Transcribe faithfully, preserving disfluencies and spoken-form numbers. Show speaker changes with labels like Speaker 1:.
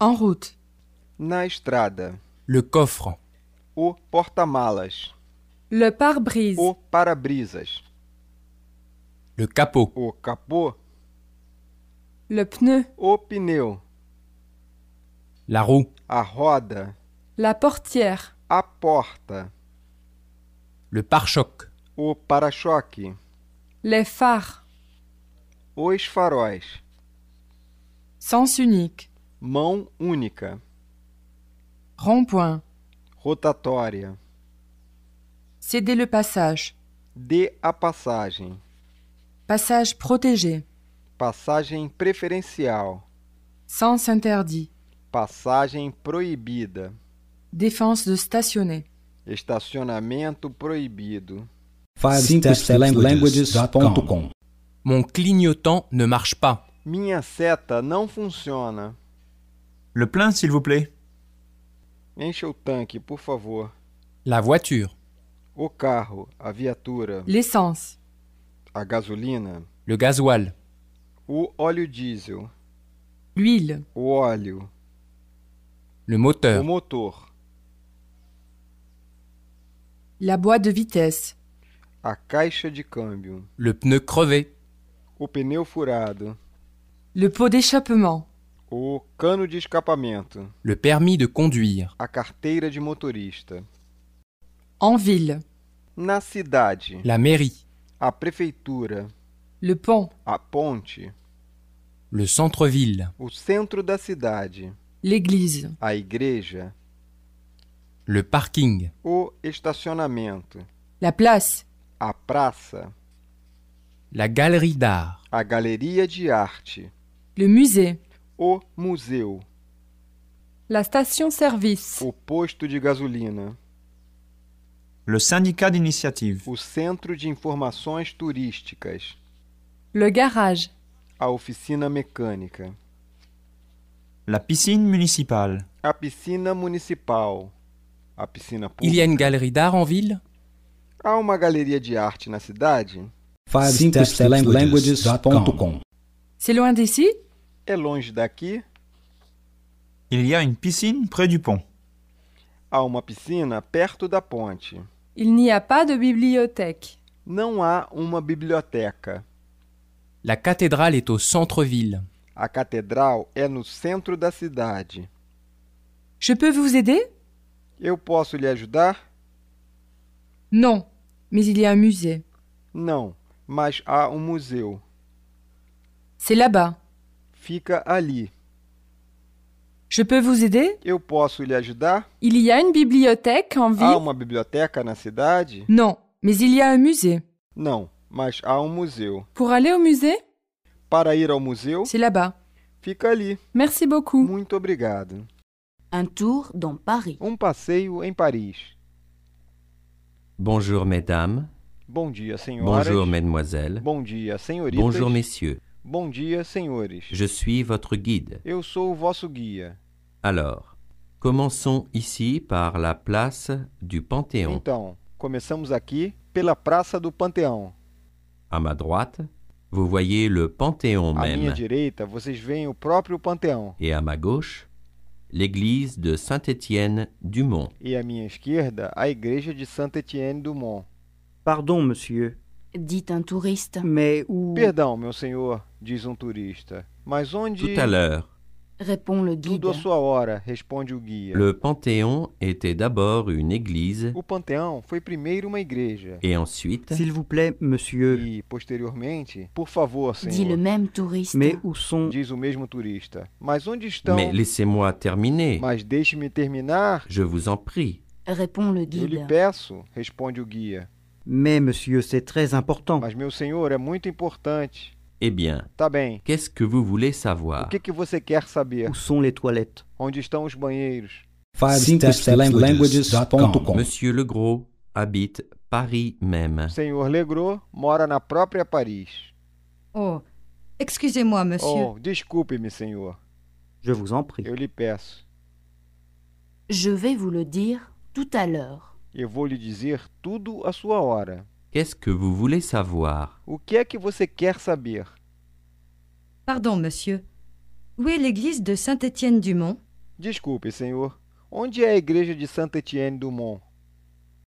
Speaker 1: En route.
Speaker 2: Na estrada.
Speaker 3: Le coffre.
Speaker 2: O porta-malas.
Speaker 1: Le pare-brise.
Speaker 2: O para-brisas.
Speaker 3: Le capot.
Speaker 2: O capô.
Speaker 1: Le pneu.
Speaker 2: O pneu.
Speaker 3: La roue.
Speaker 2: A roda.
Speaker 1: La portière.
Speaker 2: A porta.
Speaker 3: Le pare-choc.
Speaker 2: O para-choque.
Speaker 1: Les phares.
Speaker 2: Os faróis.
Speaker 1: Sens unique.
Speaker 2: Mão única.
Speaker 1: Rond-point.
Speaker 2: Rotatória.
Speaker 1: Céder le passage.
Speaker 2: Dê a passagem.
Speaker 1: Passage protégé.
Speaker 2: Passagem preferencial.
Speaker 1: Sens interdit.
Speaker 2: Passagem proibida.
Speaker 1: Défense de stationner.
Speaker 2: Estacionamento proibido.
Speaker 4: five steps languages dot com.
Speaker 3: Mon clignotant ne marche pas.
Speaker 2: Minha seta não funciona.
Speaker 5: Le plein, s'il vous plaît.
Speaker 2: Encha o tanque, por favor.
Speaker 3: La voiture.
Speaker 2: O carro, a viatura,
Speaker 1: L'essence.
Speaker 2: a gasolina,
Speaker 3: Le gasoil.
Speaker 2: o óleo diesel,
Speaker 1: L'huile.
Speaker 2: o óleo,
Speaker 3: Le
Speaker 2: o
Speaker 3: moteur.
Speaker 2: motor,
Speaker 1: La boîte de vitesse.
Speaker 2: a caixa de câmbio,
Speaker 3: Le pneu crevé.
Speaker 2: o pneu furado,
Speaker 1: Le pot d'échappement.
Speaker 2: o cano de escapamento,
Speaker 3: Le permis de conduire.
Speaker 2: a carteira de motorista.
Speaker 1: En ville.
Speaker 2: Na cidade,
Speaker 3: La mairie.
Speaker 2: a prefeitura,
Speaker 1: Le pont.
Speaker 2: a ponte,
Speaker 3: Le centre-ville.
Speaker 2: o centro da cidade,
Speaker 1: L'église.
Speaker 2: a igreja,
Speaker 3: Le parking.
Speaker 2: o estacionamento,
Speaker 1: La place.
Speaker 2: a praça,
Speaker 3: La galerie d'art.
Speaker 2: a galeria de arte,
Speaker 1: Le musée.
Speaker 2: o museu,
Speaker 1: La station-service.
Speaker 2: o posto de gasolina,
Speaker 5: Le syndicat d'initiative.
Speaker 2: o centro de informações turísticas,
Speaker 1: Le garage.
Speaker 2: a oficina mecânica,
Speaker 5: La piscine municipale.
Speaker 2: a piscina municipal, a piscina
Speaker 3: Il y a une
Speaker 2: pública.
Speaker 3: galerie d'art en ville?
Speaker 2: Há uma galeria de arte na cidade?
Speaker 4: five steps languages dot com.
Speaker 1: C'est loin d'ici?
Speaker 2: É longe daqui?
Speaker 5: Il y a une piscine près du pont.
Speaker 2: Há uma piscina perto da ponte.
Speaker 1: Il n'y a pas de bibliothèque.
Speaker 2: Não há uma biblioteca.
Speaker 3: La cathédrale est au centre-ville.
Speaker 2: A catedral é no centro da cidade.
Speaker 1: Je peux vous aider?
Speaker 2: Eu posso lhe ajudar?
Speaker 1: Non, mais il y a un musée.
Speaker 2: Não, mas há um museu.
Speaker 1: C'est là-bas.
Speaker 2: Fica ali.
Speaker 1: Je peux vous aider?
Speaker 2: Eu posso lhe ajudar?
Speaker 1: Il y a une bibliothèque en
Speaker 2: Há
Speaker 1: ville?
Speaker 2: uma biblioteca na cidade?
Speaker 1: Non, mais il y a un musée.
Speaker 2: Não, mas há um museu.
Speaker 1: Pour aller au musée?
Speaker 2: Para ir ao museu,
Speaker 1: C'est là-bas.
Speaker 2: fica ali.
Speaker 1: Merci beaucoup.
Speaker 2: Muito obrigado.
Speaker 6: Un tour dans Paris.
Speaker 2: Um passeio em Paris.
Speaker 7: Bonjour mesdames,
Speaker 2: Bom dia, senhoras.
Speaker 7: bonjour mesdemoiselles,
Speaker 2: Bom dia, senhoritas.
Speaker 7: bonjour messieurs.
Speaker 2: Bom dia, senhores.
Speaker 7: Je suis votre guide.
Speaker 2: Eu sou o vosso guia.
Speaker 7: Alors, commençons ici par la place du Panthéon.
Speaker 2: Então, começamos aqui pela Praça do Panteão.
Speaker 7: À ma droite, vous voyez le Panthéon
Speaker 2: À minha
Speaker 7: même.
Speaker 2: direita, vocês veem o próprio Panteão.
Speaker 7: Et à ma gauche, l'église de Saint-Étienne-du-Mont.
Speaker 2: E à minha esquerda, a Igreja de Saint-Étienne-du-Mont.
Speaker 8: Pardon, monsieur,
Speaker 6: Dit un touriste.
Speaker 8: mais où...
Speaker 2: Perdão, meu senhor, diz um turista. Mas onde...
Speaker 7: Tout à l'heure,
Speaker 6: Répond le guide.
Speaker 2: Tudo à sua hora, responde o guia.
Speaker 7: le Panthéon était d'abord une église
Speaker 2: O Panteão foi primeiro uma igreja.
Speaker 7: et ensuite
Speaker 8: S'il vous plaît, monsieur,
Speaker 2: E, posteriormente, por favor,
Speaker 6: Dit le
Speaker 2: senhor,
Speaker 6: même touriste.
Speaker 8: mais où sont...
Speaker 2: diz o mesmo turista. Mas onde estão...
Speaker 7: Mais laissez-moi terminer,
Speaker 2: Mas deixe-me terminar.
Speaker 7: je vous en prie.
Speaker 6: Répond le
Speaker 2: Eu lhe
Speaker 6: guide.
Speaker 2: peço, responde o guia.
Speaker 8: Mais, monsieur, c'est très important.
Speaker 2: Mas, meu senhor, é muito importante.
Speaker 7: Eh bien,
Speaker 2: Tá bem.
Speaker 7: qu'est-ce que vous voulez savoir?
Speaker 2: O que, que você quer saber?
Speaker 8: Où sont les toilettes?
Speaker 2: Onde estão os banheiros?
Speaker 4: five steps languages dot com.
Speaker 7: Monsieur Legros habite Paris même.
Speaker 2: Senhor Legros mora na própria Paris.
Speaker 9: Oh, excusez-moi, monsieur.
Speaker 2: Oh, desculpe-me, senhor.
Speaker 8: Je vous en prie.
Speaker 2: Eu lhe peço.
Speaker 6: Je vais vous le dire tout à l'heure.
Speaker 2: Eu vou lhe dizer tudo à sua hora.
Speaker 7: Qu'est-ce que vous voulez savoir?
Speaker 2: O que é que você quer saber?
Speaker 9: Pardon, monsieur. Où est l'église de Saint-Étienne-du-Mont?
Speaker 2: Desculpe, senhor. Onde é a igreja de Saint-Étienne du Mont?